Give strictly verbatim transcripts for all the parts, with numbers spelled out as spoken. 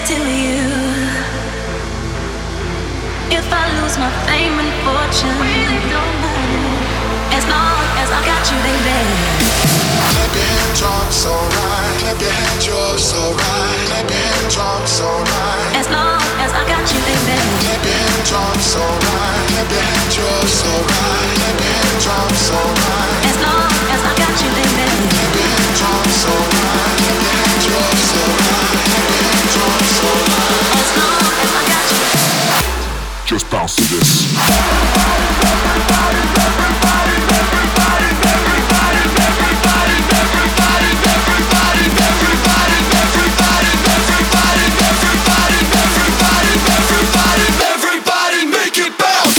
to you. If I lose my fame and fortune, really don't matter. As long as I got you, baby. Clap your hands, drums alright. Clap your hands, yours alright. Clap your hands, drums alright. As long as I got you, baby. Clap your hands, drums alright. Clap your hands, yours alright. Clap your hands, drums alright. As long as I got you, baby. Clap your hands, drums alright. Clap your hands, yours alright. Clap your hands, drums alright. As long as I got you. Just bounce to this. Everybody, everybody, everybody, everybody, everybody, everybody, everybody, everybody, everybody, everybody, everybody, everybody, everybody, everybody, make it bounce.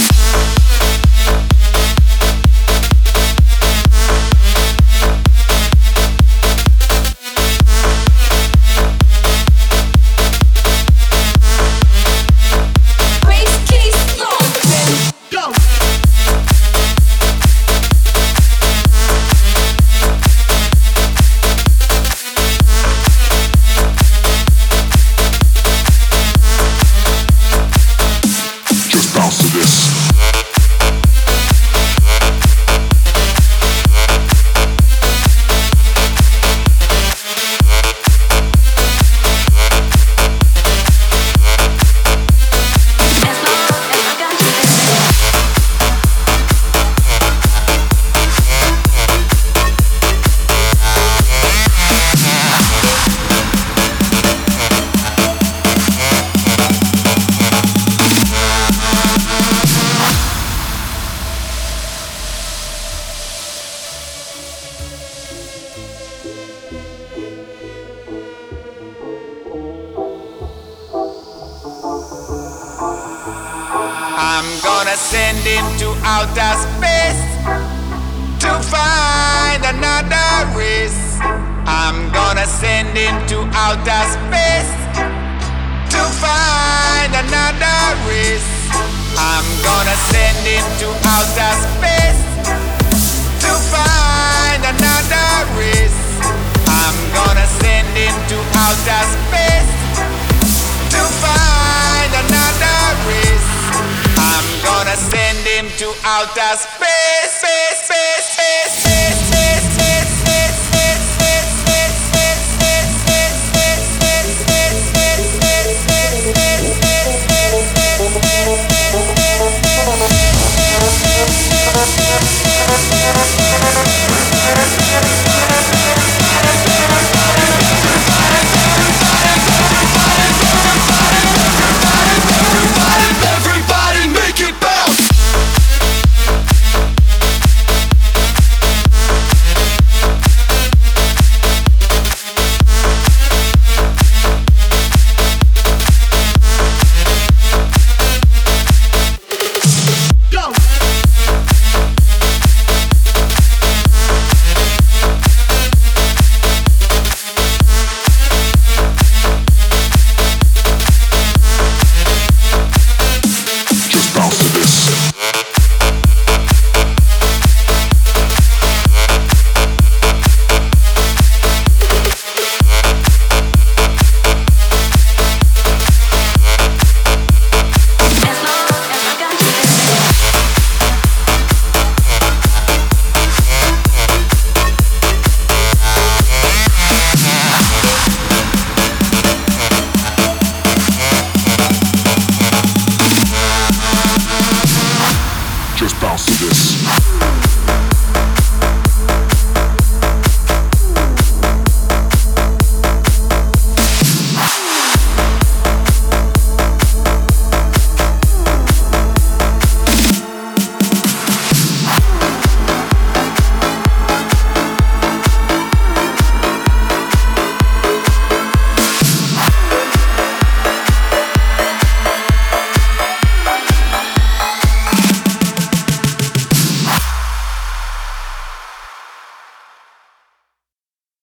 I'm gonna send him to outer space to find another race. I'm gonna send him to outer space to find another race. I'm gonna send him to outer space to find another race. I'm gonna send him to outer space to find another race. I'm gonna send him to outer space, space, space, space.